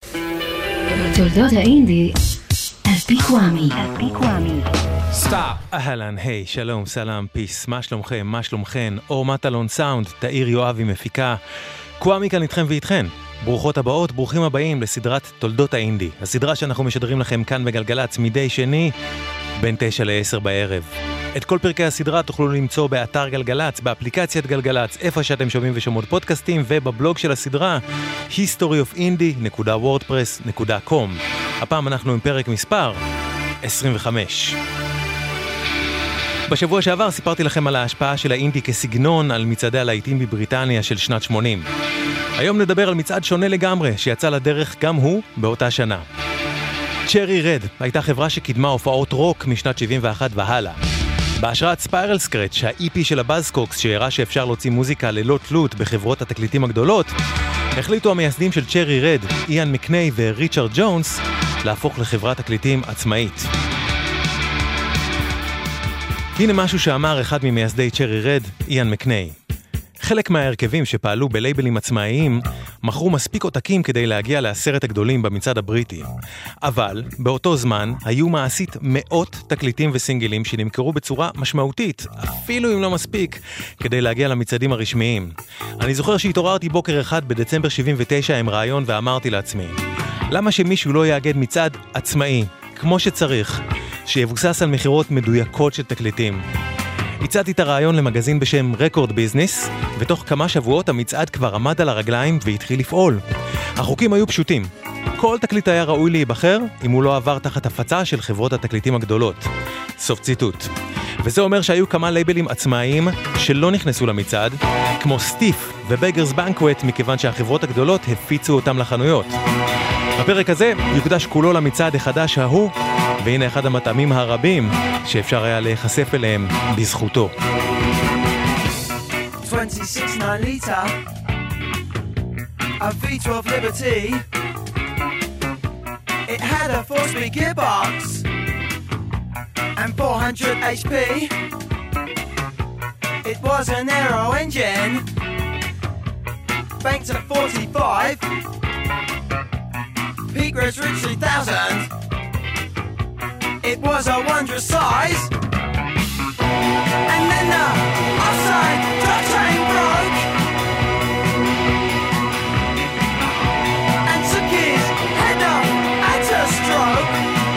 תולדות האינדי על פי קוואמי. סטאפ, אהלן, היי, שלום, סלאם, פיס, מה שלומכם, מה שלומכן, אור מטלון סאונד, תאיר יואבי מפיקה, קוואמי כאן איתכם ואיתכן. ברוכות הבאות, ברוכים הבאים לסדרת תולדות האינדי, הסדרה שאנחנו משדרים לכם כאן בגלגלץ מדי שני, בין 9 ל-10 בערב. את כל פרקי הסדרה תוכלו למצוא באתר גלגלץ, באפליקציית גלגלץ, איפה שאתם שומעים ושומעות פודקאסטים, ובבלוג של הסדרה, historyofindie.wordpress.com. הפעם אנחנו עם פרק מספר 25. בשבוע שעבר סיפרתי לכם על ההשפעה של האינדי כסגנון על מצעדי הלהיטים בבריטניה של שנת 80. היום נדבר על מצעד שונה לגמרי, שיצא לדרך גם הוא באותה שנה. צ'רי רד הייתה חברה שקידמה הופעות רוק משנת 71 והלאה. בהשראת ספיירל סקרץ', ה-EP של הבאזקוקס שהראה שאפשר להוציא מוזיקה ללא תלות בחברות התקליטים הגדולות, החליטו המייסדים של צ'רי רד, איאן מקניי וריצ'רד ג'ונס, להפוך לחברת תקליטים עצמאית. הנה משהו שאמר אחד ממייסדי צ'רי רד, איאן מקניי. חלק מההרכבים שפעלו בלייבלים עצמאיים מכרו מספיק עותקים כדי להגיע לעשרת הגדולים במצעד הבריטי. אבל באותו זמן היו מעשית מאות תקליטים וסינגלים שנמכרו בצורה משמעותית, אפילו אם לא מספיק, כדי להגיע למצעדים הרשמיים. אני זוכר שהתעוררתי בוקר אחד בדצמבר 79 עם רעיון ואמרתי לעצמי, למה שמישהו לא יאגד מצעד עצמאי, כמו שצריך, שיבוסס על מחירות מדויקות של תקליטים? הצעתי את הרעיון למגזין בשם רקורד ביזנס, ותוך כמה שבועות המצעד כבר עמד על הרגליים והתחיל לפעול. החוקים היו פשוטים. כל תקליט היה ראוי להיבחר אם הוא לא עבר תחת הפצה של חברות התקליטים הגדולות. סוף ציטוט. וזה אומר שהיו כמה לייבלים עצמאיים שלא נכנסו למצעד, כמו סטיף ובגרס בנקווט, מכיוון שהחברות הגדולות הפיצו אותם לחנויות. הפרק הזה יוקדש כולו למצעד החדש ההוא, והנה אחד המטעמים הרבים שאפשר היה להיחשף אליהם בזכותו. 26.9 liter, a V12 Liberty. It had a 4-speed gearbox and 400 HP. It was an aero engine, banked at 45. Peak gross reached 3,000. It was a wondrous size. And then the offside drop train broke and took his head off at a stroke.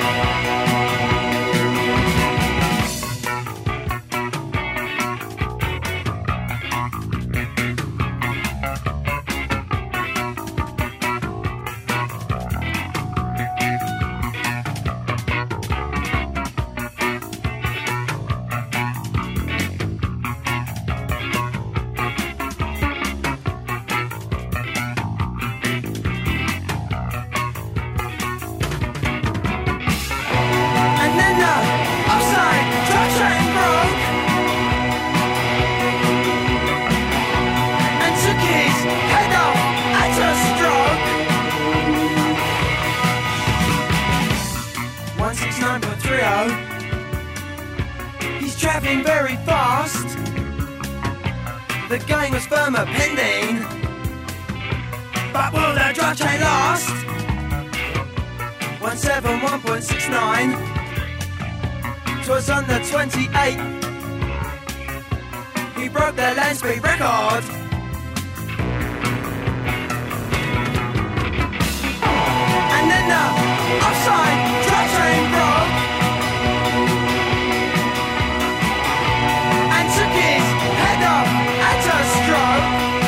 He's traveling very fast. The game was firmer pending, but will the drive chain last? 171.69. 'Twas on the 28th he broke the land speed record. And then the offside drive train broke and took his head off at a stroke.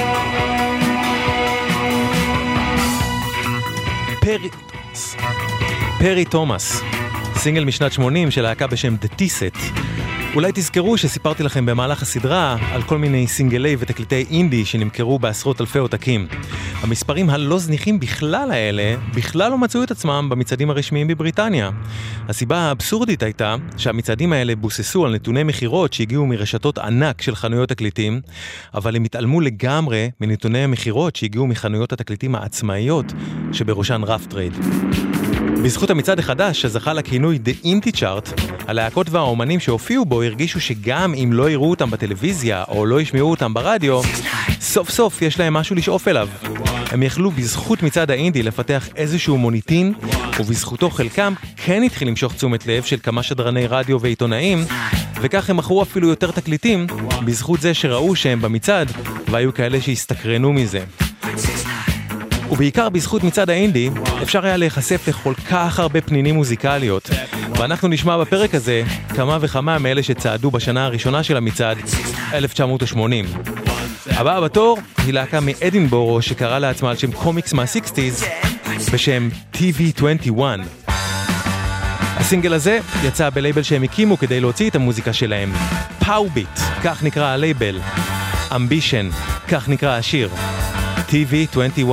פרי תומאס, סינגל משנת 80 של להקה בשם The T-Set. אולי תזכרו שסיפרתי לכם במהלך הסדרה על כל מיני סינגלי ותקליטי אינדי שנמכרו בעשרות אלפי עותקים. המספרים הלא זניחים בכלל האלה בכלל לא מצאו את עצמם במצעדים הרשמיים בבריטניה. הסיבה האבסורדית הייתה שהמצעדים האלה בוססו על נתוני מחירות שהגיעו מרשתות ענק של חנויות תקליטים, אבל הם התעלמו לגמרי מנתוני המחירות שהגיעו מחנויות התקליטים העצמאיות שבראשן רף טרייד. בזכות המצעד החדש שזכה לכינוי The Indie Chart, הלהקות והאומנים שהופיעו בו הרגישו שגם אם לא יראו אותם בטלוויזיה או לא ישמעו אותם ברדיו, סוף סוף יש להם משהו לשאוף אליו. הם יכלו בזכות מצעד האינדי לפתח איזשהו מוניטין, ובזכותו חלקם כן התחיל למשוך תשומת לב של כמה שדרני רדיו ועיתונאים, וכך הם מכרו אפילו יותר תקליטים, בזכות זה שראו שהם במצעד, והיו כאלה שהסתקרנו מזה. ובעיקר בזכות מצעד האינדי, אפשר היה להיחשף לכל כך הרבה פנינים מוזיקליות, ואנחנו נשמע בפרק הזה כמה וכמה מאלה שצעדו בשנה הראשונה של המצעד, 1980. הבאה בתור היא להקה מאדינבורו שקרא לעצמה על שם קומיקס מה-60s בשם TV21. הסינגל הזה יצא בלייבל שהם הקימו כדי להוציא את המוזיקה שלהם. פאוביט, כך נקרא הלייבל. אמבישן, כך נקרא השיר. TV21.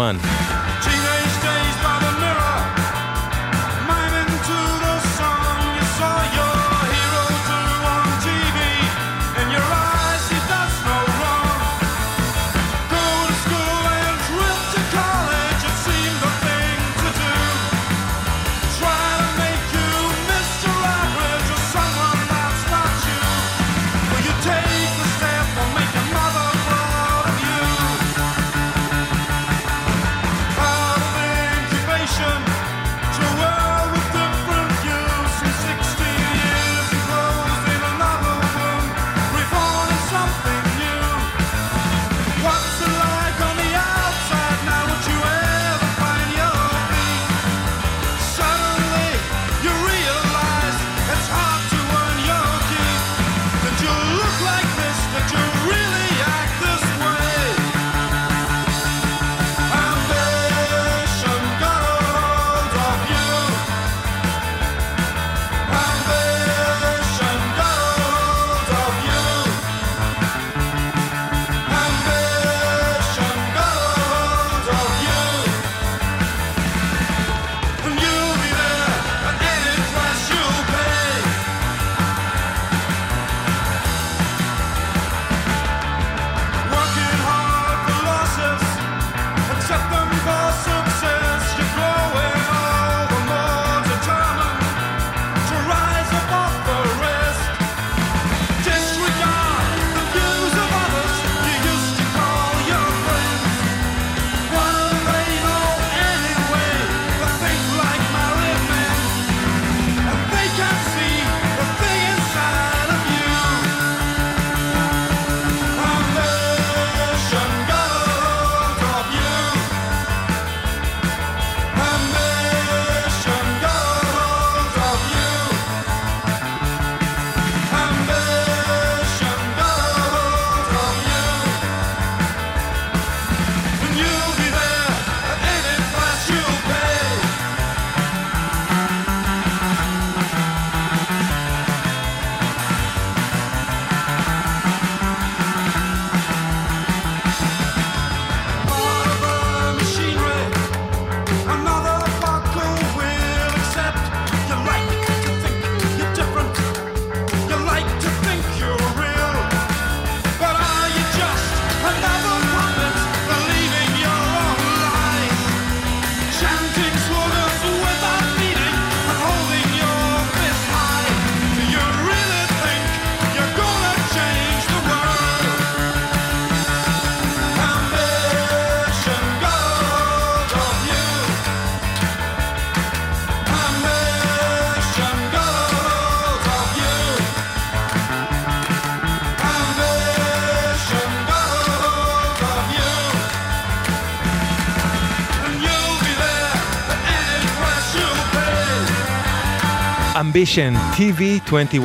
אמבישן, TV21.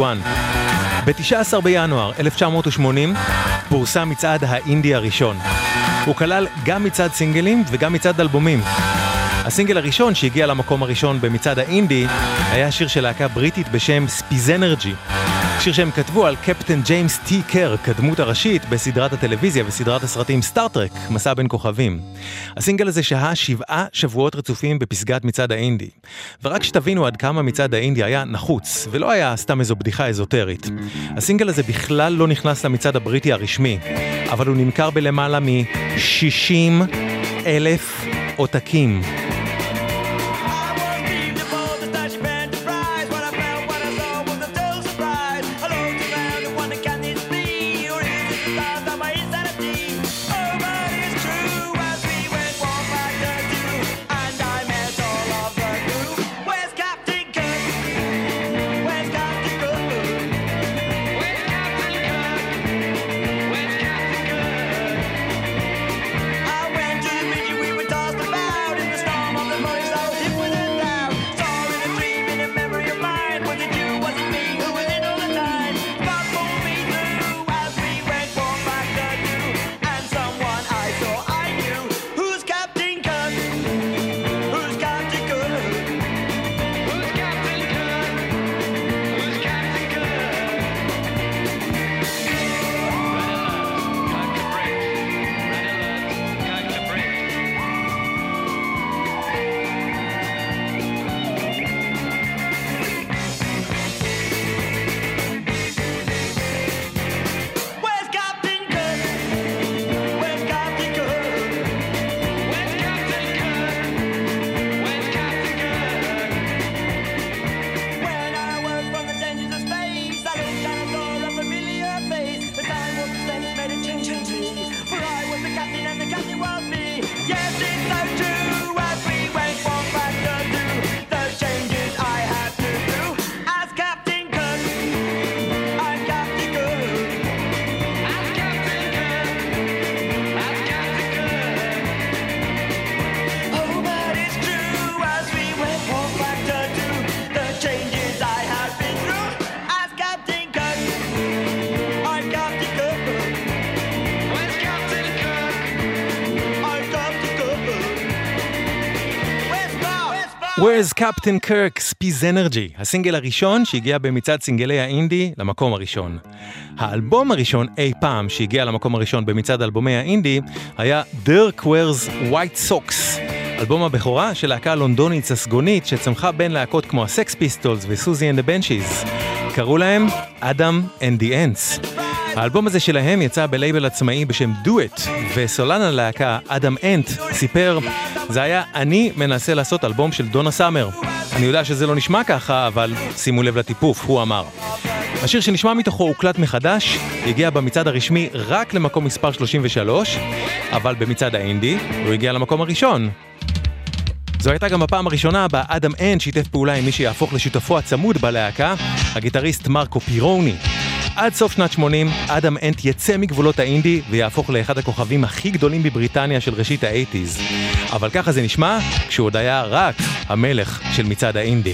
ב-19 בינואר 1980 פורסם מצעד האינדי הראשון. הוא כלל גם מצעד סינגלים וגם מצעד אלבומים. הסינגל הראשון שהגיע למקום הראשון במצעד האינדי היה שיר של להקה בריטית בשם ספיזנרג'י. שיר שהם כתבו על קפטן ג'יימס טי קרק, הדמות הראשית בסדרת הטלוויזיה וסדרת הסרטים סטארטרק, מסע בין כוכבים. הסינגל הזה שהה 7 שבועות רצופים בפסגת מצעד האינדי. ורק שתבינו עד כמה מצעד האינדי היה נחוץ, ולא היה סתם איזו בדיחה אזוטרית. הסינגל הזה בכלל לא נכנס למצעד הבריטי הרשמי, אבל הוא נמכר בלמעלה מ-60,000 עותקים. Where's Captain Kirk, Space Energy, הסינגל הראשון שהגיע במצעד סינגלי האינדי למקום הראשון. האלבום הראשון אי פעם שהגיע למקום הראשון במצעד אלבומי האינדי היה Dirk Wears White Socks, אלבום הבכורה של להקה לונדונית ססגונית שצמחה בין להקות כמו הסקס פיסטולס וסוזי and the Benchies. קראו להם Adam and the Ants. האלבום הזה שלהם יצא בלייבל עצמאי בשם Do It, וסולן הלהקה אדם אנט סיפר, זה היה אני מנסה לעשות אלבום של דונה סאמר. אני יודע שזה לא נשמע ככה, אבל שימו לב לטיפוף, הוא אמר. השיר שנשמע מתוכו הוקלט מחדש, הגיע במצעד הרשמי רק למקום מספר 33, אבל במצעד האינדי הוא הגיע למקום הראשון. זו הייתה גם הפעם הראשונה בה אדם אנט שיתף פעולה עם מי שיהפוך לשותפו הצמוד בלהקה, הגיטריסט מרקו פירוני. עד סוף שנת 80, אדם אנט יצא מגבולות האינדי ויהפוך לאחד הכוכבים הכי גדולים בבריטניה של ראשית ה-80s. אבל ככה זה נשמע כשהוא עוד היה רק המלך של מצעד האינדי.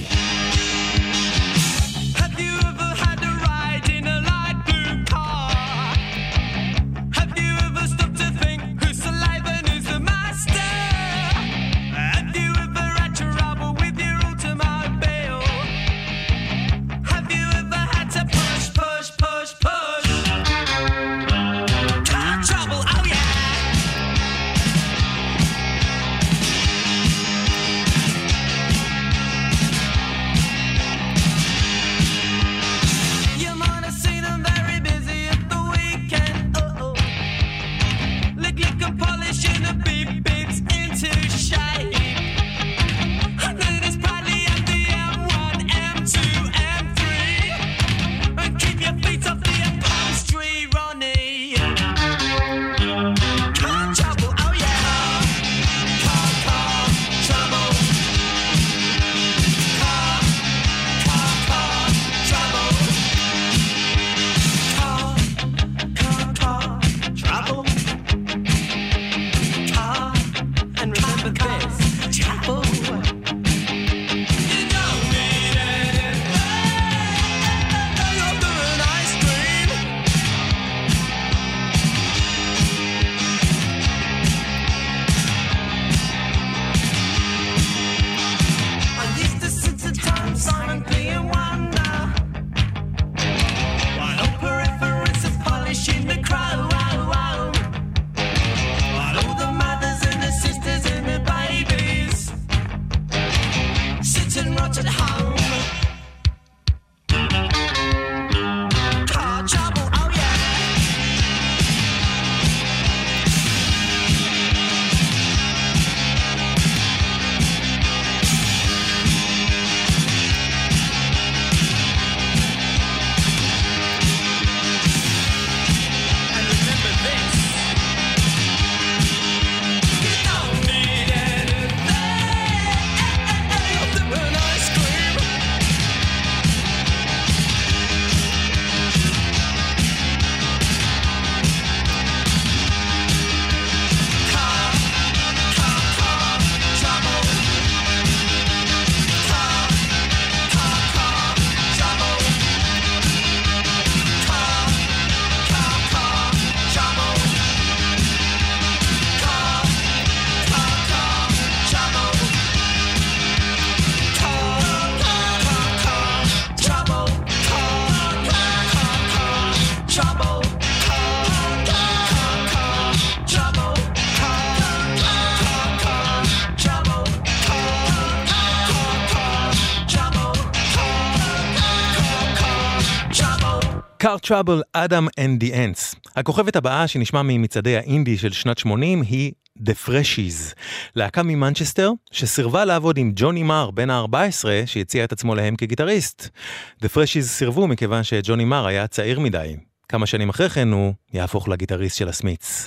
Car Trouble, Adam and the Ants. הכוכבת הבאה שנשמע ממצעדי האינדי של שנת 80 היא The Freshies, להקה ממנצ'סטר שסירבה לעבוד עם ג'וני מר בן ה-14 שהציע את עצמו להם כגיטריסט. The Freshies סירבו מכיוון שג'וני מר היה צעיר מדי. כמה שנים אחרי כן הוא יהפוך לגיטריסט של הסמית'ס.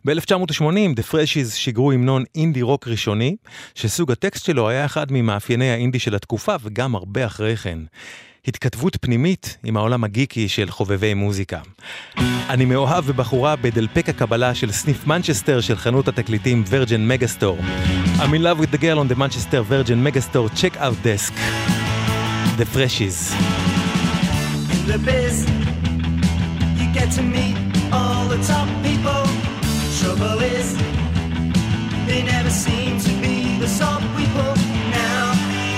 ב-1980 The Freshies שיגרו המנון אינדי רוק ראשוני, שסוג הטקסט שלו היה אחד ממאפייני האינדי של התקופה וגם הרבה אחרי כן. התכתבות פנימית עם העולם הגיקי של חובבי מוזיקה. אני מאוהב בבחורה בדלפק הקבלה של סניף מנצ'סטר של חנות התקליטים וירג'ן מגסטור. I'm in love with the girl on the Manchester Virgin Megastore checkout desk. The Freshies. In the biz, you get to meet all the top people. Trouble is, they never seem to be the top people. Now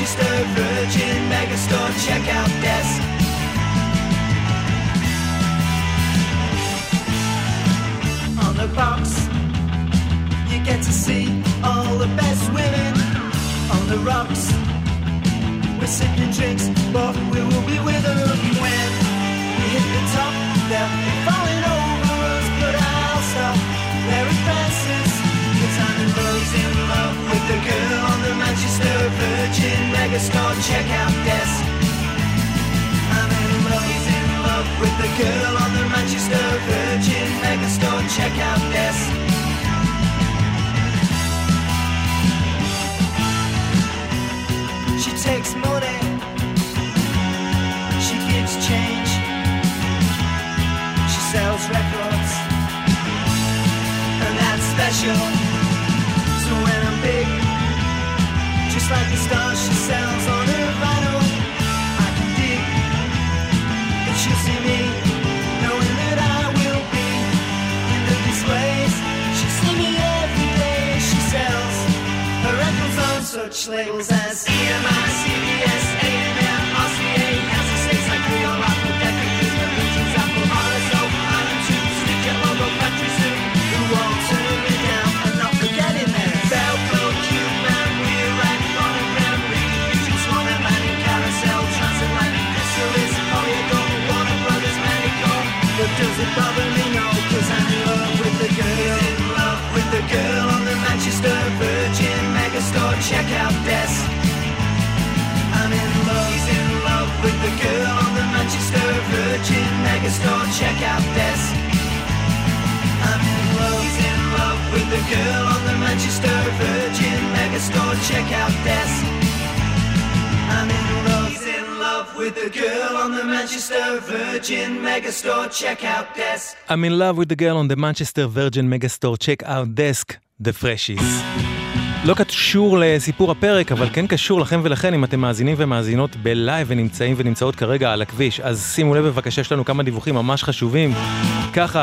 Manchester Virgin Megastore checkout desk. On the box, you get to see all the best women. On the rocks, we're sipping drinks, but we will be with them when we hit the top. They'll be falling over us, but I'll stop wearing glasses, 'cause I'm in love with the girl on the Manchester Virgin Megastore checkout desk. I'm in love with the girl on the Manchester Virgin Megastore checkout desk. She takes money, she gives change, she sells records, and that's special. So when I'm big, just like the stars she sells on her vinyl, I can dig that she'll see me, knowing that I will be in the displays. She'll see me every day. She sells her records on such labels as EMI, CBS, A&M, RCA, Kansas State, like Creole, Apple, Decca, Kisma, Regions, Apple, RSO, Island 2, Stitcher, Logo, Factory Zoo, who won't turn me down and not forgetting that Velcro, Cube Man, We're Rack, Monogram, Reed, Future, Swan, and Manning, Carousel, Transatlantic, Chrysalis, Polyago, Warner Brothers, Manico. But does it bother me? No, 'cause I'm in love with the girl. In love with the girl on the Manchester Virgin Megastore checkout desk. I'm in love with the girl on the Manchester Virgin Megastore checkout desk. I'm in love with the girl on the Manchester Virgin Megastore checkout desk. I'm in love with the girl on the Manchester Virgin Megastore checkout desk. I'm in love with the girl on the Manchester Virgin Megastore checkout desk, The Freshies. לא קשור לסיפור הפרק, אבל כן קשור לכם ולכן אם אתם מאזינים ומאזינות בלייב ונמצאים ונמצאות כרגע על הכביש. אז שימו לב בבקשה, יש לנו כמה דיווחים ממש חשובים. ככה,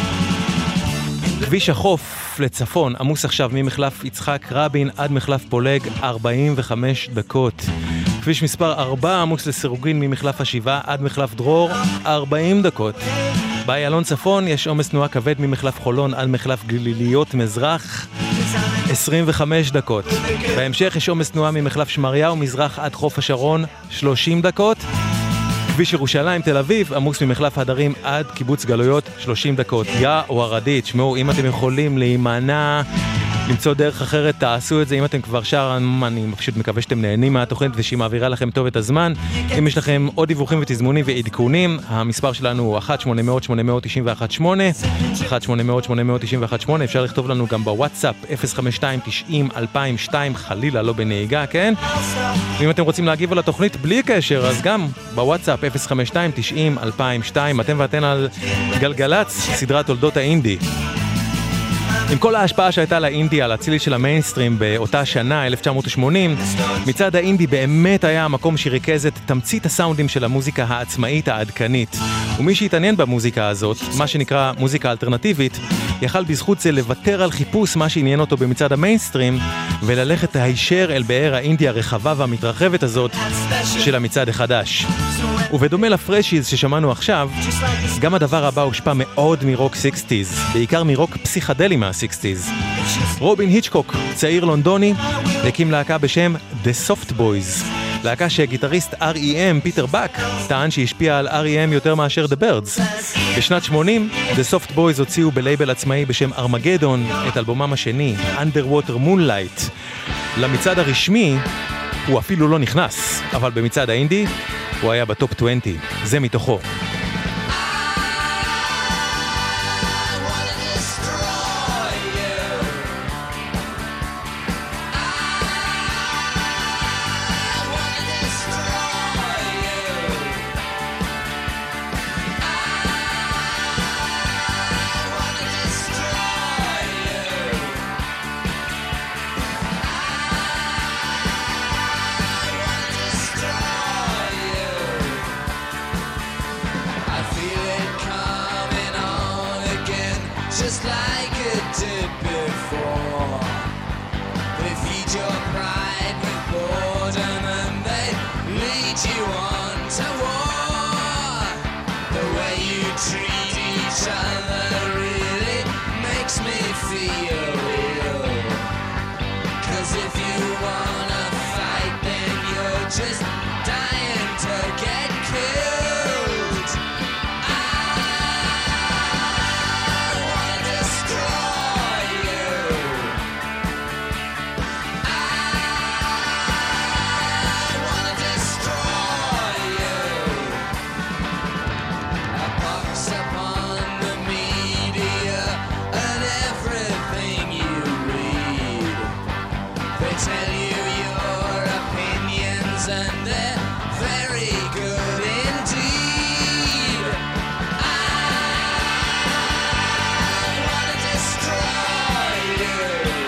כביש החוף לצפון עמוס עכשיו ממחלף יצחק רבין עד מחלף פולג 45 דקות. כביש מספר 4 עמוס לסירוגין ממחלף השבעה עד מחלף דרור 40 דקות. באיילון צפון יש עומס תנועה כבד ממחלף חולון עד מחלף גליליות מזרח 25 דקות. בהמשך יש עומס תנועה ממחלף שמריהו מזרח עד חוף השרון 30 דקות. כביש ירושלים תל אביב עמוס ממחלף הדרים עד קיבוץ גלויות 30 דקות. יא או הרדית, שמעו, אם אתם יכולים להימנע, למצוא דרך אחרת, תעשו את זה. אם אתם כבר שם, אני פשוט מקווה שאתם נהנים מהתוכנית ושהיא מעבירה לכם טוב את הזמן. אם יש לכם עוד דיווחים ותזמונים ועדכונים, המספר שלנו הוא 1-800-891-8, 1-800-891-8. אפשר לכתוב לנו גם בוואטסאפ 052-90-2002, חלילה לא בנהיגה, כן? ואם אתם רוצים להגיב על התוכנית בלי קשר, אז גם בוואטסאפ 052-90-2002. אתם ואתן על גלגלץ, סדרת תולדות האינדי. עם כל ההשפעה שהייתה לאינדי על הצילי של המיינסטרים באותה שנה, 1980, מצד האינדי באמת היה המקום שריכז את תמצית הסאונדים של המוזיקה העצמאית העדכנית. ומי שהתעניין במוזיקה הזאת, מה שנקרא מוזיקה אלטרנטיבית, יכל בזכות זה לוותר על חיפוש מה שעניין אותו במצד המיינסטרים, וללכת הישר אל באר האינדי הרחבה והמתרחבת הזאת של המצד החדש. ובדומה לפרשיז ששמענו עכשיו, גם הדבר הבא הושפע מאוד מרוק 60s, בעיקר מרוק פסיכדלי מה-60s. רובין היצ'קוק, צעיר לונדוני, הקים להקה בשם The Soft Boys, להקה שגיטריסט R.E.M. פיטר בק טען שהשפיע על R.E.M. יותר מאשר The Birds. בשנת 80, The Soft Boys הוציאו בלייבל עצמאי בשם ארמגדון את אלבומם השני, Underwater Moonlight. למצעד הרשמי הוא אפילו לא נכנס, אבל במצעד האינדי הוא היה בטופ 20, זה מתוכו. lead you on to war. The way you treat each other really makes me feel ill. 'Cause if you wanna fight, then you're just dying to get killed. I wanna destroy you. I wanna destroy you. A pox upon the media and everything you read. They tell you your opinions and they're very good indeed. I wanna destroy you.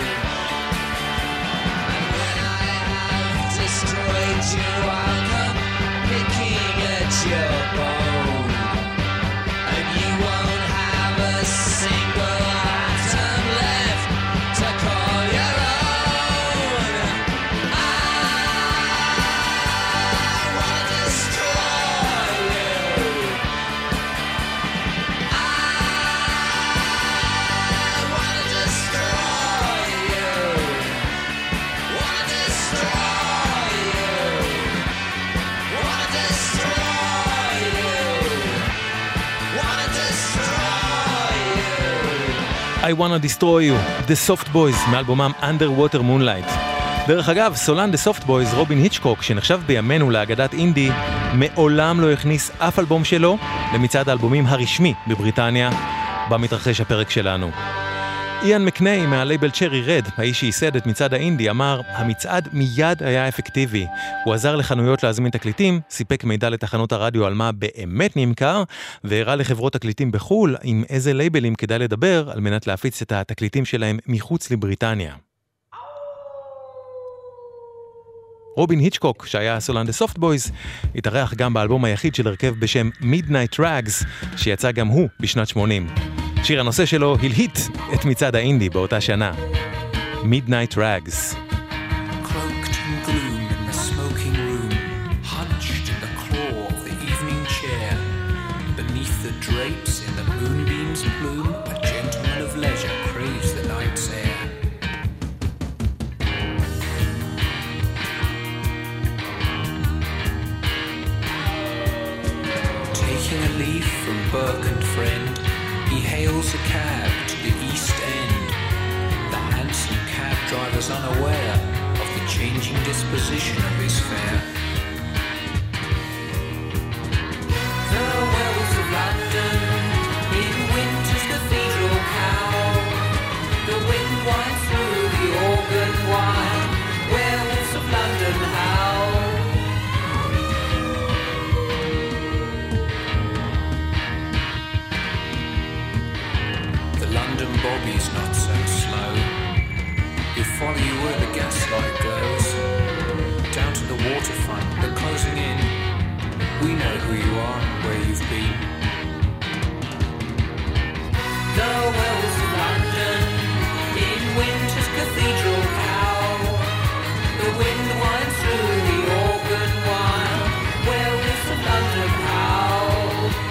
And when I have destroyed you, I'll come picking at your bone. And you won't have a single atom left to call your own. I wanna destroy you. I wanna destroy you. Wanna destroy you. Wanna destroy you. Wanna destroy you. I Wanna Destroy You, The Soft Boys, מאלבומם Underwater Moonlight. דרך אגב, סולן The Soft Boys, רובין היצ'קוק, שנחשב בימינו לאגדת אינדי, מעולם לא הכניס אף אלבום שלו למצעד האלבומים הרשמי בבריטניה, בה מתרחש הפרק שלנו. איאן מקניי מהלייבל צ'רי רד, האיש שייסד את מצעד האינדי, אמר, המצעד מיד היה אפקטיבי. הוא עזר לחנויות להזמין תקליטים, סיפק מידע לתחנות הרדיו על מה באמת נמכר, והראה לחברות תקליטים בחול עם איזה לייבלים כדאי לדבר על מנת להפיץ את התקליטים שלהם מחוץ לבריטניה. רובין היצ'קוק, שהיה סולן The Soft Boys, התארח גם באלבום היחיד של הרכב בשם Midnight Rags, שיצא גם הוא בשנת 80. שיר הנושא שלו הלהיט את מצעד האינדי באותה שנה. Midnight Rags. Cloaked in gloom in the smoking room, hunched in the claw of the evening chair, beneath the drapes in the moonbeam's plume, a gentleman of leisure craves the night's air. Taking a leaf from Burke and Friend, he hails a cab to the East End. The handsome cab driver's unaware of the changing disposition of his fare. The wells of London in winter's cathedral cow. The wind winds through the organ wine. Werewolves of London howl. The London bobby's not so slow. He'll follow you where the gaslight goes. Down to the waterfront, they're closing in. We know who you are and where you've been. The wells of London in winter's cathedral cow. The wind winds through the organ wine. Werewolves of London howl.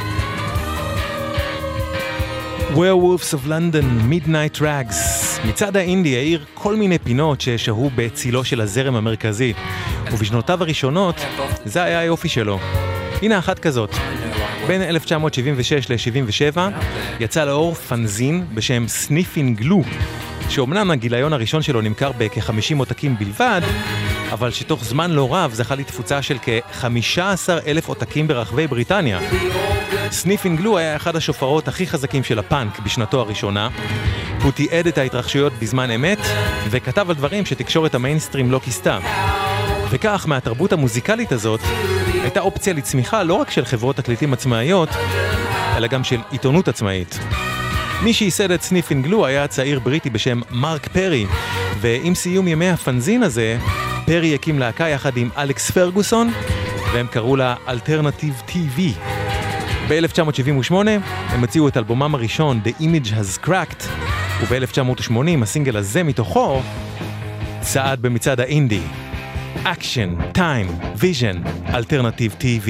Werewolves of London, Midnight Rags. מצעד האינדי העיר כל מיני פינות ששהו בצילו של הזרם המרכזי, ובשנותיו הראשונות זה היה היופי שלו. הנה אחת כזאת. בין 1976 ל-77 יצא לאור פנזין בשם Sniffing Glue, שאומנם הגיליון הראשון שלו נמכר בכ-50 עותקים בלבד, אבל שתוך זמן לא רב זכה לתפוצה של כ-15,000 עותקים ברחבי בריטניה. Sniffing Glue היה אחד השופרות הכי חזקים של הפאנק בשנתו הראשונה. הוא תיעד את ההתרחשויות בזמן אמת, וכתב על דברים שתקשורת המיינסטרים לא כיסתה. וכך, מהתרבות המוזיקלית הזאת, הייתה אופציה לצמיחה לא רק של חברות תקליטים עצמאיות, אלא גם של עיתונות עצמאית. מי שייסד את Sniffing Glue היה צעיר בריטי בשם מרק פרי, ועם סיום ימי הפנזין הזה, פרי הקים להקה יחד עם אלכס פרגוסון, והם קראו לה Alternative TV. ב-1978 הם הציעו את אלבומם הראשון, The Image Has Cracked, וב-1980 הסינגל הזה מתוכו צעד במצעד האינדי. Action, Time, Vision, Alternative TV.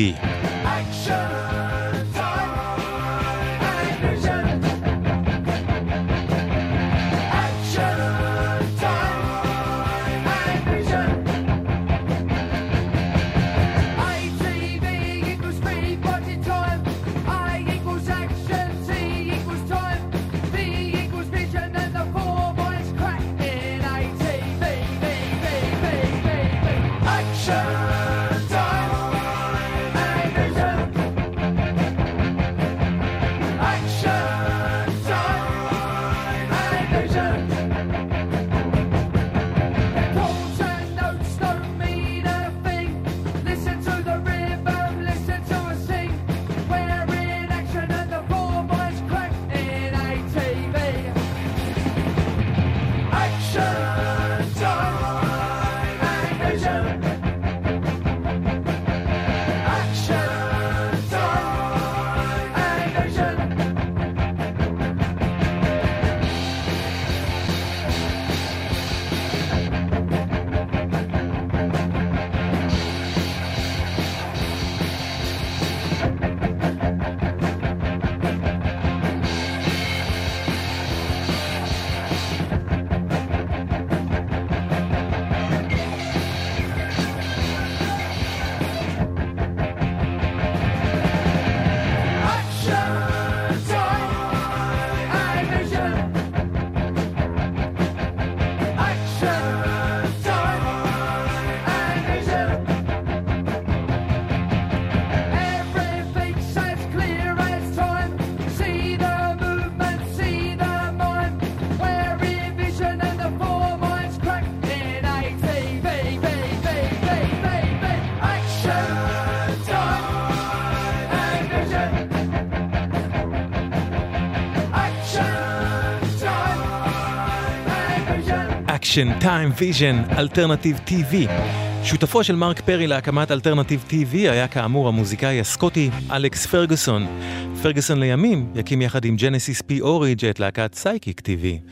Action, Time, Vision, Alternative TV. שותפו של מרק פרי להקמת Alternative TV היה כאמור המוזיקאי הסקוטי אלכס פרגוסון. פרגוסון לימים יקים יחד עם ג'נסיס פי אוריג' את להקת סייקיק TV.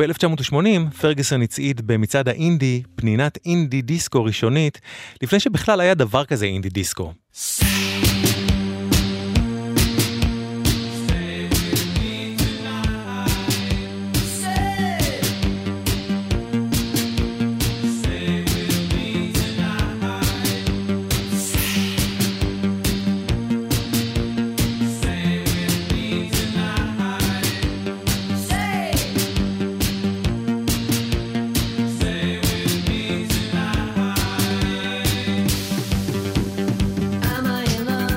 וב-1980 פרגוסון הצעיד במצעד האינדי פנינת אינדי דיסקו ראשונית, לפני שבכלל היה דבר כזה אינדי דיסקו. Am I in love?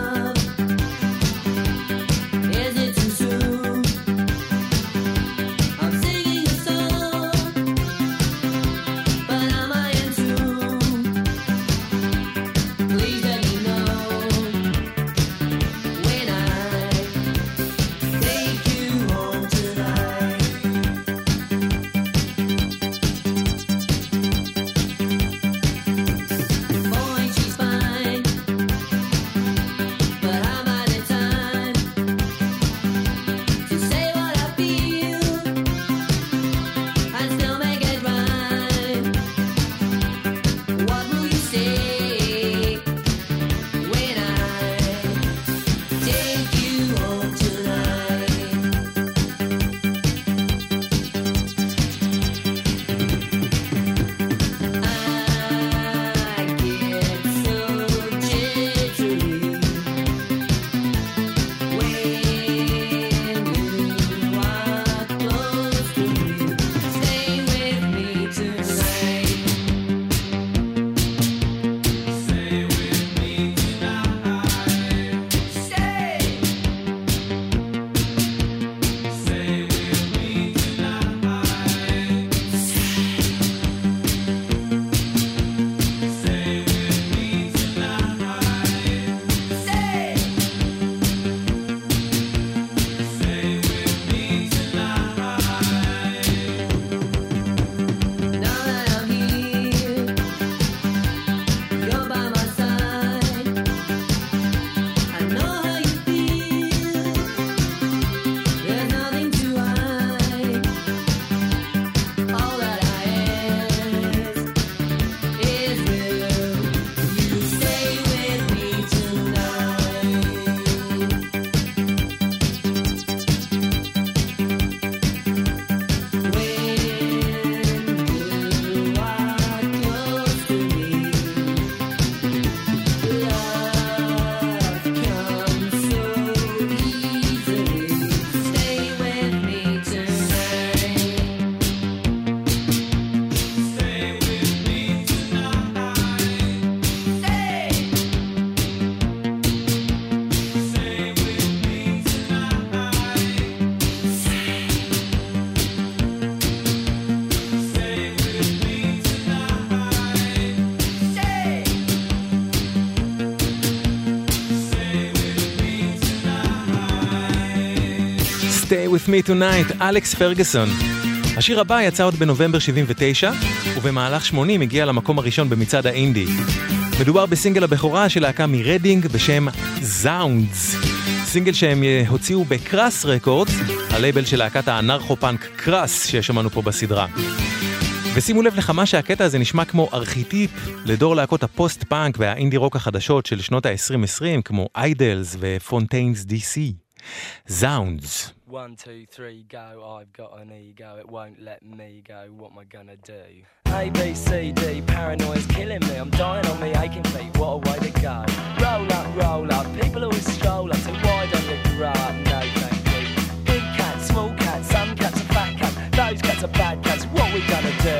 with me tonight, אלכס פרגוסון. השיר הבא יצא עוד בנובמבר 79, ובמהלך 80 הגיע למקום הראשון במצעד האינדי. מדובר בסינגל הבכורה של להקה מרדינג בשם זאונדס. סינגל שהם הוציאו בקראס רקורדס, הלייבל של להקת האנרכו-פאנק קראס ששמענו פה בסדרה. ושימו לב לכמה שהקטע הזה נשמע כמו ארכיטיפ לדור להקות הפוסט-פאנק והאינדי רוק החדשות של שנות ה-2020, כמו איידלס ופונטיינס DC. זאונדס. 1, 2, 3, go, I've got an ego, it won't let me go, what am I gonna do? A, B, C, D, paranoia's killing me, I'm dying on me aching feet, what a way to go. Roll up, people always stroll up, so why don't you grow up? No thank you. Big cats, small cats, some cats are fat cats, those cats are bad cats, what we gonna do?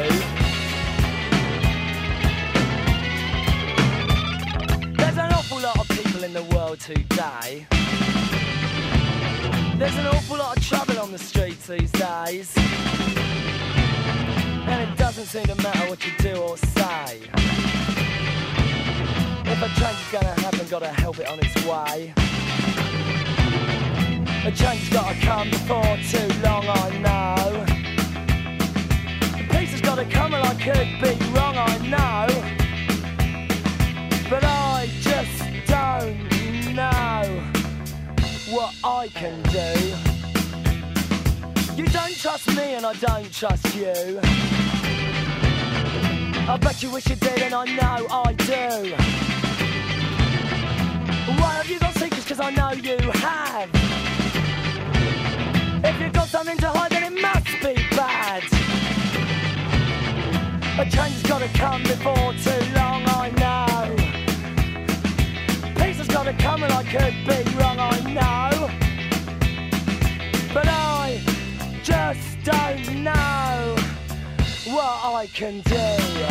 There's an awful lot of people in the world today. There's an awful lot of trouble on the streets these days, and it doesn't seem to matter what you do or say. If a change is gonna happen, gotta help it on its way. A change has gotta come before too long, I know. The peace has gotta come, and I could be wrong, I know, but I just don't know what I can do. You don't trust me and I don't trust you. I bet you wish you did and I know I do. Why have you got secrets? Cause I know you have. If you've got something to hide then it must be bad. A change has gotta come before too long, I know. Peace has gotta come and I could be wrong, I know, but I just don't know what I can do.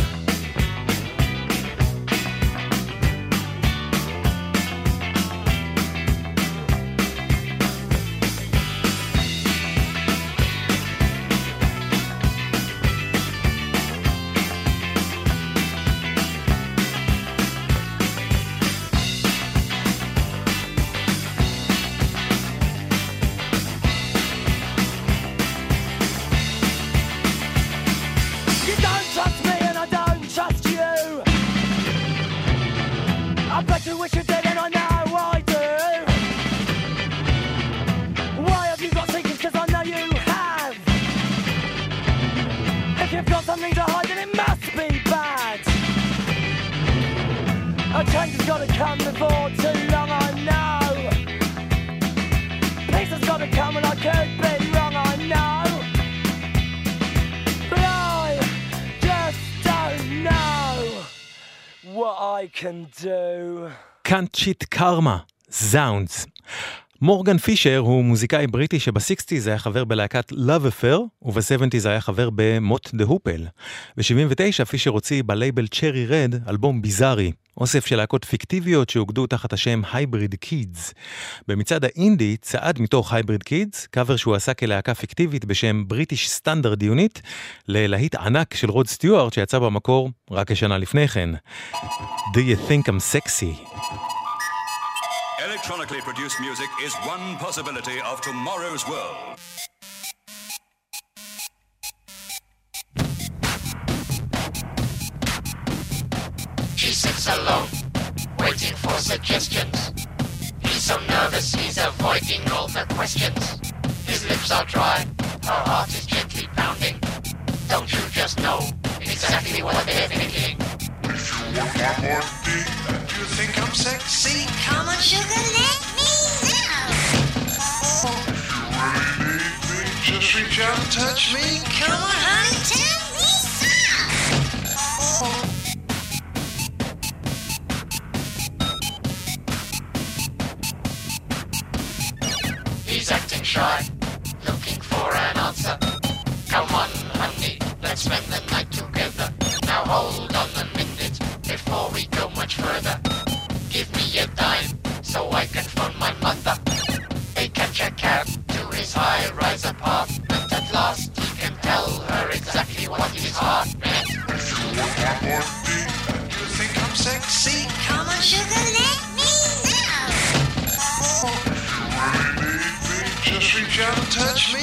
You wish you did and I know I do. Why have you got secrets? Cause I know you have. If you've got something to hide then it must be bad. A change has gotta come before too long, I know. Peace has gotta come and I could be wrong, I know, but I just don't know what I can do. Can't cheat karma, זאונדס. מורגן פישר הוא מוזיקאי בריטי שב-60s היה חבר בלהקת Love Affair, וב-70s היה חבר במוט דה הופל. ב-79 פישר הוציא בלייבל צ'רי רד אלבום ביזארי, אוסף של להקות פיקטיביות שהוגדו תחת השם הייבריד קידס. במצעד האינדי צעד מתוך הייבריד קידס, קאבר שהוא עשה כלהקה פיקטיבית בשם בריטיש סטנדרט יוניט, ללהיט ענק של רוד סטיוארט שיצא במקור רק כשנה לפני כן. Do you think I'm sexy? Electronically produced music is one possibility of tomorrow's world. He sits alone, waiting for suggestions. He's so nervous, he's avoiding all the questions. His lips are dry, her heart is gently pounding. Don't you just know exactly what they're thinking? If you want one more thing, do you think I'm sexy? Come on, sugar, let me know. If you really need me, just reach out and touch me. Come on, honey, tell me so. He's acting shy, looking for an answer. Come on, honey, let's spend the night together. Now hold on a minute before we go much further. Give me a dime so I can phone my mother. They catch a cab to his high-rise apartment. At last he can tell her exactly what his heart meant. If you want one more thing, do you think I'm sexy? Come on, sugar, let me know. If you really need me, just reach out and touch me.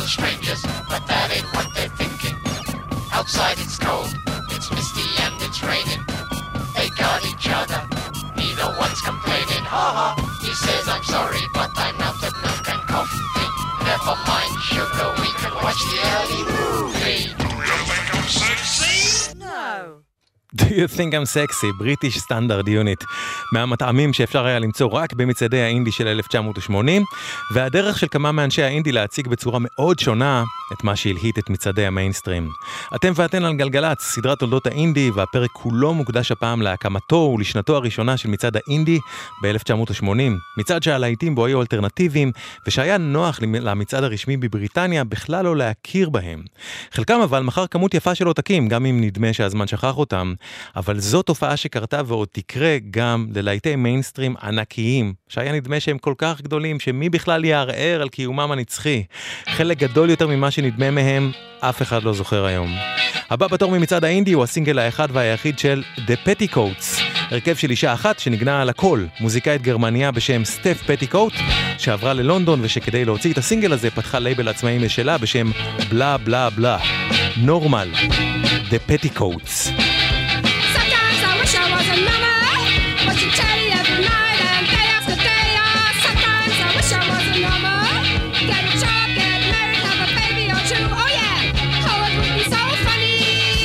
strangers, but that ain't what they're thinking. Outside it's cold, it's misty and it's raining. They got each other, neither one's complaining. Ha ha, he says I'm sorry, but I'm out of milk and coffee. Never mind sugar, we can watch the early movie. Do you think I'm sexy? No. Do you think I'm sexy? British Standard Unit. מהמטעמים שאפשר היה למצוא רק במצעדי האינדי של 1980, והדרך של כמה מאנשי האינדי להציג בצורה מאוד שונה את מה שהלהיט את מצעדי המיינסטרים. אתם ואתן על גלגלץ, סדרת תולדות האינדי, והפרק כולו מוקדש הפעם להקמתו ולשנתו הראשונה של מצעד האינדי ב-1980. מצעד שהלהיטים בו היו אלטרנטיביים, ושהיה נוח למצעד הרשמי בבריטניה בכלל לא להכיר בהם. חלקם אבל מחר כמות יפה של עותקים, גם אם נדמה שהזמן שכח אותם, אבל זו תופעה שקרתה ועוד תקרה גם ללהיטי מיינסטרים ענקיים, שהיה נדמה שהם כל כך גדולים שמי בכלל יערער על קיומם הנצחי. חלק גדול יותר ממה שנדמה מהם, אף אחד לא זוכר היום. הבא בתור ממצעד האינדי הוא הסינגל האחד והיחיד של The Petticoats, הרכב של אישה אחת שנגנה על הכל, מוזיקאית גרמניה בשם סטף פטיקוט, שעברה ללונדון ושכדי להוציא את הסינגל הזה פתחה לייבל עצמאי משלה בשם בלה בלה בלה. נורמל, The Petticoats. Sometimes I wish I was a mama, but you tell me every night and day after day. Sometimes I wish I was a mama, get a job, get married, have a baby or two. Oh yeah, oh it would be so funny,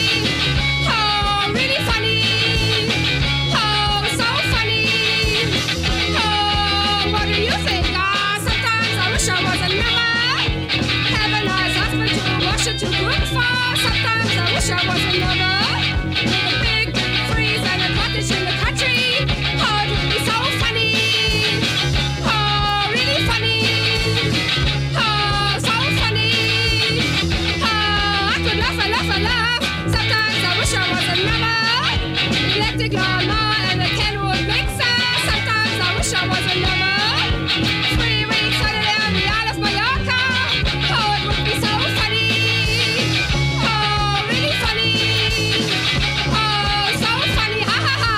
oh really funny, oh so funny, oh what do you think? Sometimes I wish I was a mama, have a nice husband to wash it to cook for. Sometimes I wish I was a mama. In the country, oh, it would be so funny, oh, really funny, oh, so funny, oh, I could laugh and laugh and laugh. Sometimes I wish I was a mama, electric lawnmower and a Kenwood mixer. Sometimes I wish I was a mama, 3 weeks holiday on the Isle of Mallorca. Oh, it would be so funny, oh, really funny, oh, so funny, ha ha ha.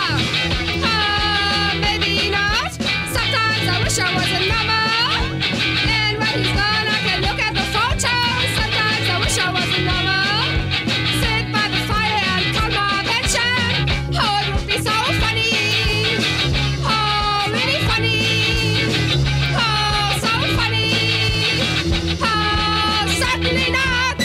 I wish I was a mama, and when he's gone I can look at the photos. Sometimes I wish I was a mama, sit by the fire and count my pension. Oh, it would be so funny, oh, really funny, oh, so funny, oh, certainly not.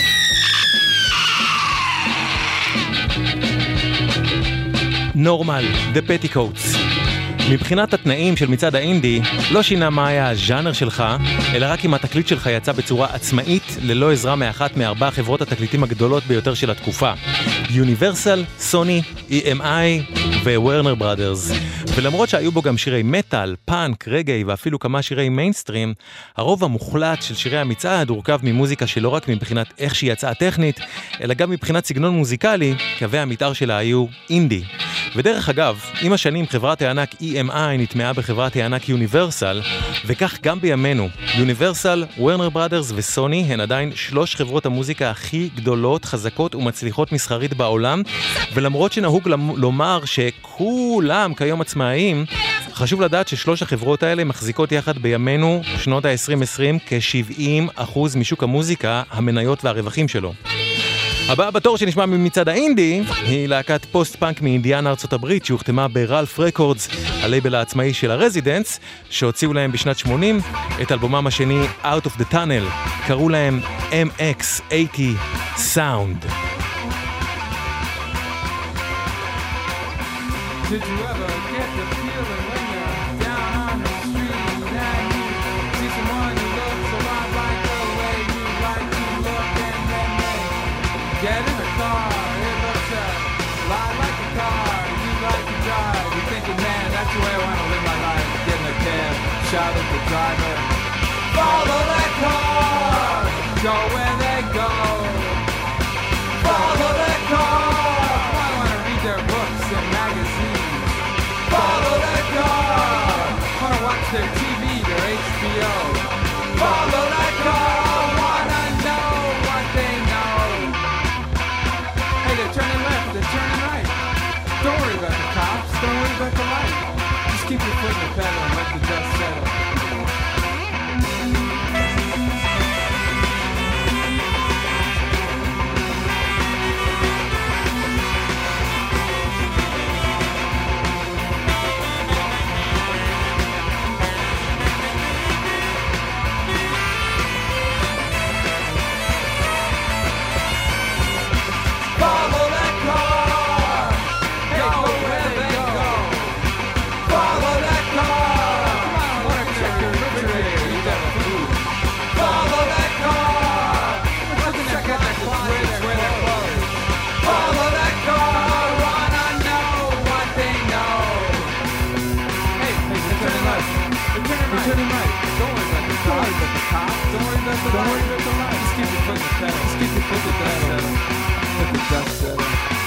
נורמל, The Petticoats. מבחינת התנאים של מצעד האינדי, לא שינה מה היה הז'אנר שלך, אלא רק אם התקליט שלך יצא בצורה עצמאית, ללא עזרה מאחת מארבע חברות התקליטים הגדולות ביותר של התקופה. יוניברסל, סוני, EMI וורנר בראדרס. ולמרות שהיו בו גם שירי מטל, פאנק, רגעי ואפילו כמה שירי מיינסטרים, הרוב המוחלט של שירי המצעד הורכב ממוזיקה שלא רק מבחינת איך שהיא יצאה טכנית, אלא גם מבחינת סגנון מוזיקלי, קווי המתאר שלה היו אינדי. ודרך אגב, עם השנים חברת הענק EMI נטמעה בחברת הענק יוניברסל, וכך גם בימינו. יוניברסל, וורנר בראדרס וסוני הן עדיין 3 חברות המוזיקה הכי גדולות, חזקות ומצליחות מסחרית בעולם, ולמרות שנהוג לומר שכולם כיום עצמאיים, חשוב לדעת ש3 החברות האלה מחזיקות יחד בימינו, שנות ה-2020, כ-70% משוק המוזיקה, המניות והרווחים שלו. הבאה בתור שנשמע ממצעד האינדי היא להקת פוסט-פאנק מאינדיאנה ארצות הברית שהוחתמה ברלף רקורדס, הלייבל העצמאי של הרזידנס, שהוציאו להם בשנת 80 את אלבומם השני Out of the Tunnel. קראו להם MX80 Sound. Did you ever get the feeling when you're down on the street and you see someone who looks a lot like the way you like to look, and then they get in the car, it looks a lot like the car you like to drive. You're thinking, man, that's the way I want to live my life. Get in the cab, shout at the driver, follow that car, go where they go, follow that car. I want to read their books and magazines, follow that car. Wanna watch their TV, their HBO. Follow that car. Wanna know what they know. Hey, they're turning left, they're turning right. Don't worry about the cops, don't worry about the light. Just keep your foot in the pedal and let the dust settle. Don't worry about the light. Just keep your foot in the pedal. Just keep your foot in the pedal. Let the dust settle.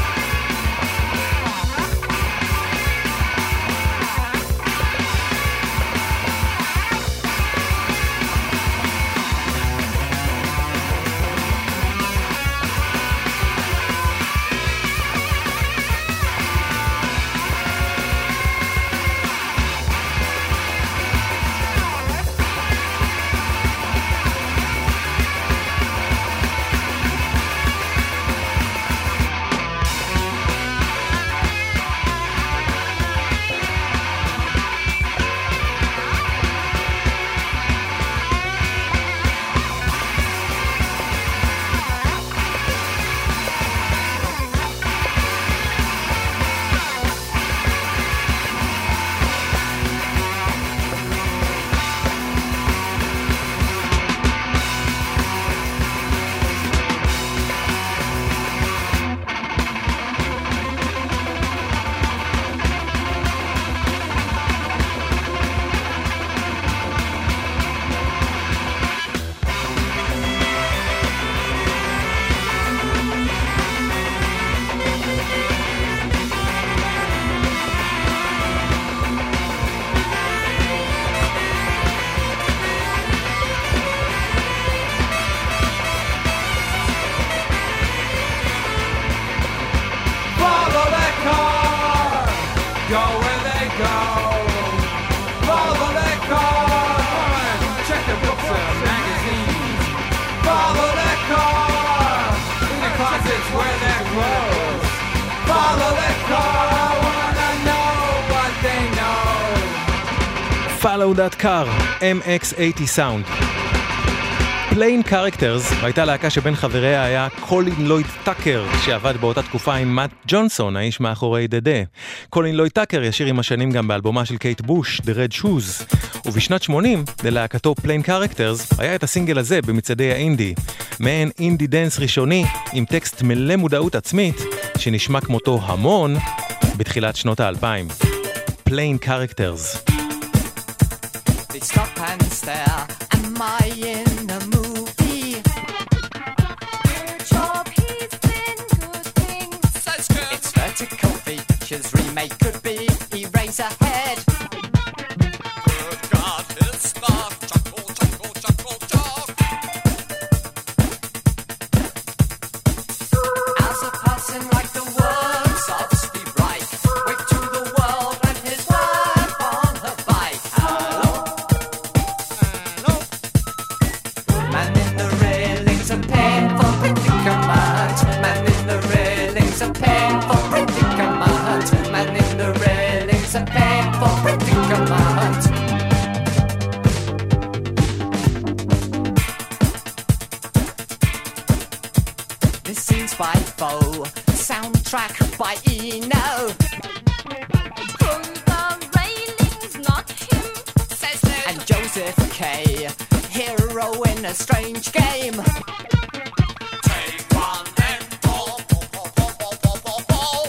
Follow That Car, MX80 Sound. Plain Characters הייתה להקה שבין חבריה היה קולין לויד טאקר, שעבד באותה תקופה עם מאט ג'ונסון, האיש מאחורי דדה. קולין לויד טאקר ישיר עם השנים גם באלבומה של קייט בוש, The Red Shoes. ובשנת 80, ללהקתו Plain Characters, היה את הסינגל הזה במצעדי האינדי. מעין אינדי דנס ראשוני, עם טקסט מלא מודעות עצמית, שנשמע כמותו המון בתחילת שנות ה-2000. Plain Characters. They stop and stare. Am I in a movie? Good job, he's been good things. That's good. It's vertical features remake could be Eraserhead. Good God, it's not chuckle, chuckle, chuckle, chuck. As a person like the words of Steve Reich, wave to the world and his wife on her bike. Hello. Man in the railings, a painful predicament. Man in the railings, a painful predicament. Man in the railings, a painful predicament. This scene's by Foe, soundtrack by Eno. Pull the railings, not him, says Ned. And Joseph K, hero in a strange game. Take one and fall, fall, fall, fall, fall, fall, fall.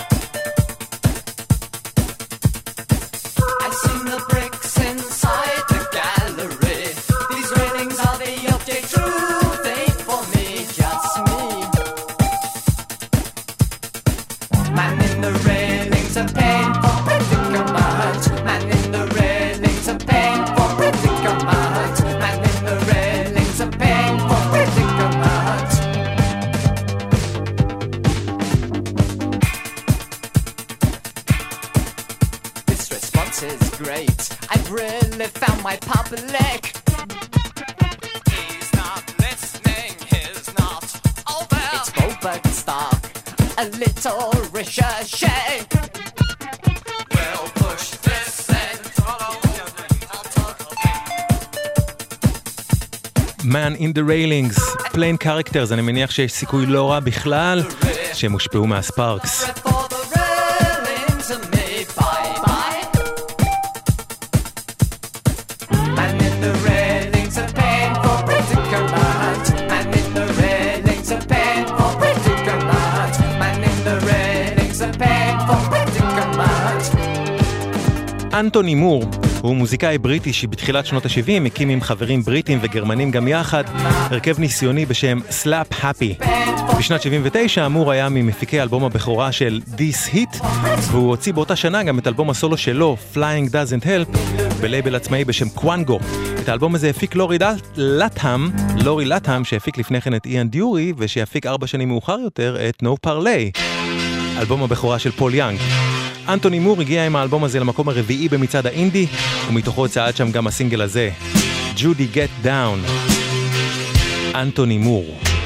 I've seen the bricks inside the gallery. These railings are the object truth, ain't for me, just me. Man in the railings, a painful predicament. Man in the railings, a painful predicament. Man in the railings, a painful predicament. This response is great. I've really found my public. He's not listening, he's not over. It's Goldberg Stark, a little recherche. We'll push this and Man in the Railings, Plain Characters, אני מניח שיש סיכוי לא רע בכלל שהם הושפעו מהספארקס. for the railings and me bye-bye. Man in the railings, a painful predicament. Man in the railings, a painful predicament. Man in the railings, a painful predicament. אנטוני מור הוא מוזיקאי בריטי שבתחילת שנות ה-70 הקים עם חברים בריטים וגרמנים גם יחד הרכב ניסיוני בשם Slap Happy. בשנת 79 אמור היה ממפיקי אלבום הבכורה של This Hit, והוא הוציא באותה שנה גם את אלבום הסולו שלו Flying Doesn't Help בלייבל עצמאי בשם קוואנגו. את האלבום הזה הפיק לורי לטהאם שהפיק לפני כן את איאן דיורי ושיפיק 4 שנים מאוחר יותר את No Parley, אלבום הבכורה של פול יאנג. אנטוני מור הגיע עם האלבום הזה למקום הרביעי במצעד האינדי, ומתוכו צעד שם גם הסינגל הזה, Judy Get Down. אנטוני מור.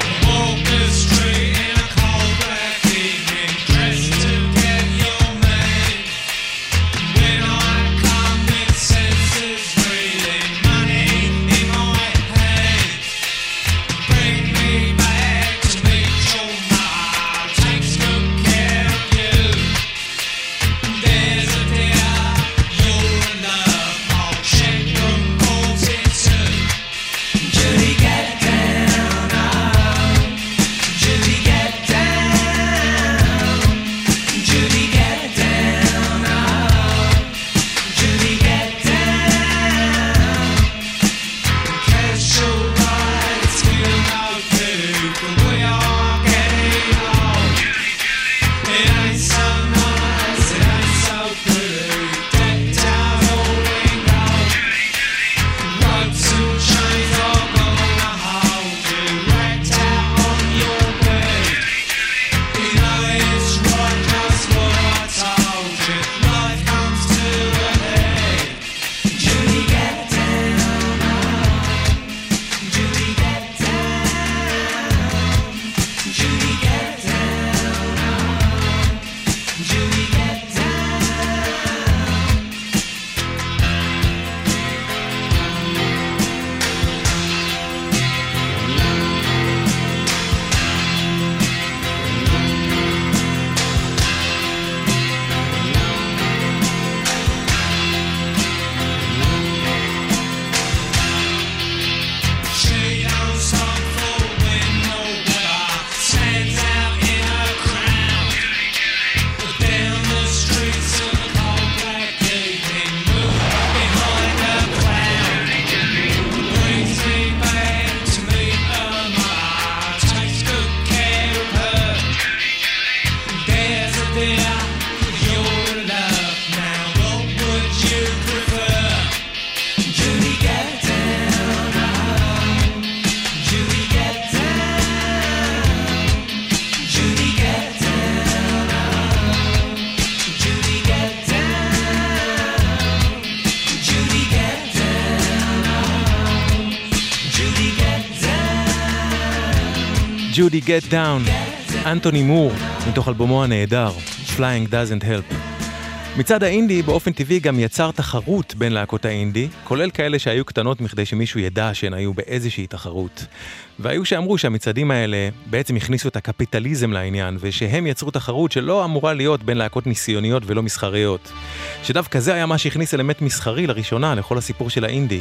Judy Get Down, אנטוני מור, מתוך אלבומו הנהדר, Flying Doesn't Help. מצד האינדי באופן טבעי גם יצר תחרות בין להקות האינדי, כולל כאלה שהיו קטנות מכדי שמישהו ידע שהן היו באיזושהי תחרות. והיו שאמרו שהמצעדים האלה בעצם הכניסו את הקפיטליזם לעניין, ושהם יצרו תחרות שלא אמורה להיות בין להקות ניסיוניות ולא מסחריות. שדווקא זה היה מה שהכניס אלמנט מסחרי לראשונה לכל הסיפור של האינדי.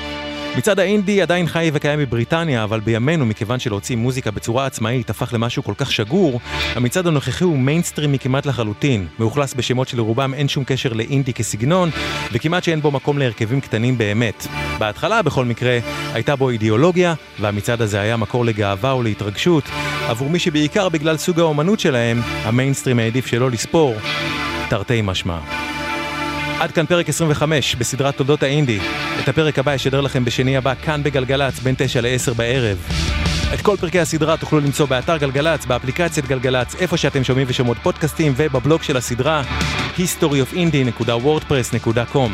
מצד האינדי עדיין חי וקיים בבריטניה, אבל בימינו, מכיוון שלהוציא מוזיקה בצורה עצמאית הפך למשהו כל כך שגור, המצעד הנוכחי הוא מיינסטרימי כמעט לחלוטין, מאוכלס בשמות שלרובם אין שום קשר לאינדי כסגנון, וכמעט שאין בו מקום להרכבים קטנים באמת. בהתחלה, בכל מקרה, הייתה בו אידיאולוגיה, והמצעד הזה היה מקור לגאווה ולהתרגשות, עבור מי שבעיקר בגלל סוג האומנות שלהם, המיינסטרים העדיף שלא לספור, תרתי משמע. עד כאן פרק 25 בסדרת תולדות האינדי. את הפרק הבא ישדר לכם בשני הבא כאן בגלגלץ בין 9 ל-10 בערב. את כל פרקי הסדרה תוכלו למצוא באתר גלגלץ, באפליקציית גלגלץ, איפה שאתם שומעים ושומעות פודקאסטים, ובבלוג של הסדרה historyofindie.wordpress.com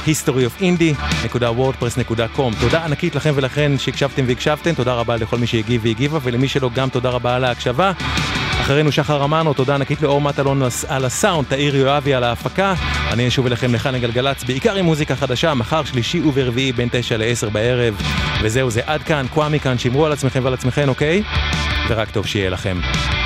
historyofindie.wordpress.com. תודה ענקית לכם ולכן שהקשבתם והקשבתם, תודה רבה לכל מי שהגיב והגיבה, ולמי שלא גם תודה רבה על ההקשבה. אחרינו שחר אמנו, תודה ענקית לאור מטלון על הסאונד, תאיר יואבי על ההפקה. אני אשוב אליכם לכאן לגלגלץ, בעיקר עם מוזיקה חדשה, מחר שלישי וברביעי בין 9 ל-10 בערב. וזהו, זה עד כאן, קוואמי כאן, שמרו על עצמכם ועל עצמכם, אוקיי? ורק טוב שיהיה לכם.